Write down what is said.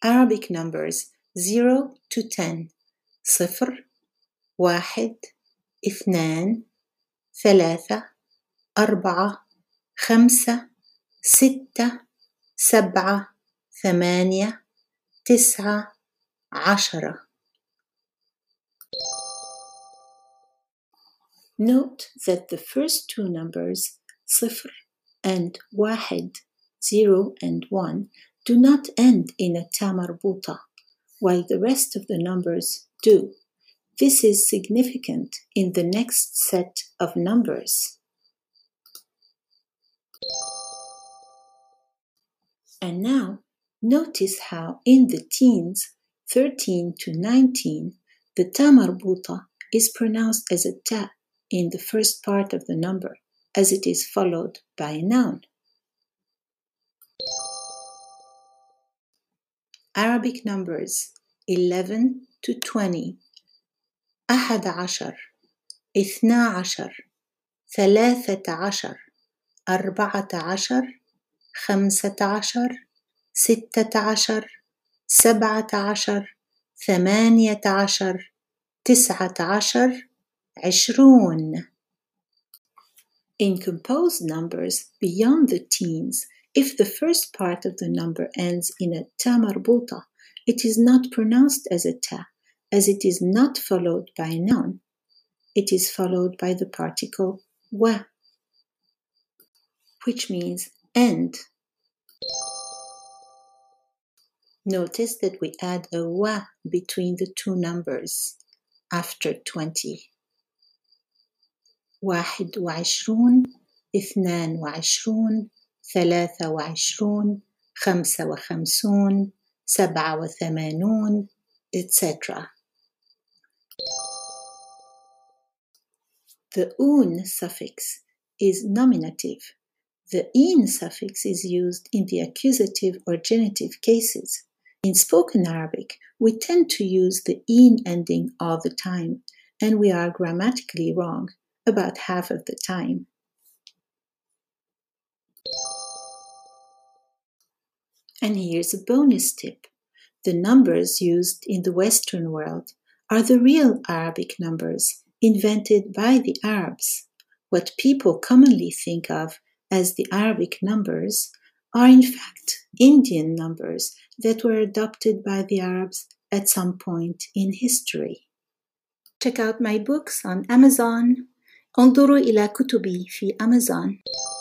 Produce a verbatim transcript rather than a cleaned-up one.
Arabic numbers zero to ten. صفر، واحد، اثنان، ثلاثة، أربعة، خمسة، ستة، سبعة، ثمانية، تسعة، عشرة. Note that the first two numbers, صفر and واحد, zero and one, do not end in a ta marbuta, while the rest of the numbers do. This is significant in the next set of numbers. And now, notice how in the teens, thirteen to nineteen, the ta marbuta is pronounced as a ta in the first part of the number, as it is followed by a noun. Arabic numbers eleven to twenty. أحد عشر، اثنا عشر، ثلاثة عشر، أربعة عشر، خمسة عشر، ستة عشر، سبعة عشر، ثمانية عشر، تسعة عشر، عشرون. In composed numbers beyond the teens, if the first part of the number ends in a ta marbuta, it is not pronounced as a ta, as it is not followed by a noun. It is followed by the particle wa, which means end. Notice that we add a wa between the two numbers after twenty. واحد وعشرون، اثنان وعشرون، ثلاثة وعشرون، خمسة وخمسون، سبعة وثمانون, et cetera. The un suffix is nominative. The in suffix is used in the accusative or genitive cases. In spoken Arabic, we tend to use the in ending all the time, and we are grammatically wrong about half of the time. And here's a bonus tip. The numbers used in the Western world are the real Arabic numbers invented by the Arabs. What people commonly think of as the Arabic numbers are in fact Indian numbers that were adopted by the Arabs at some point in history. Check out my books on Amazon. انظروا إلى كتبي في Amazon.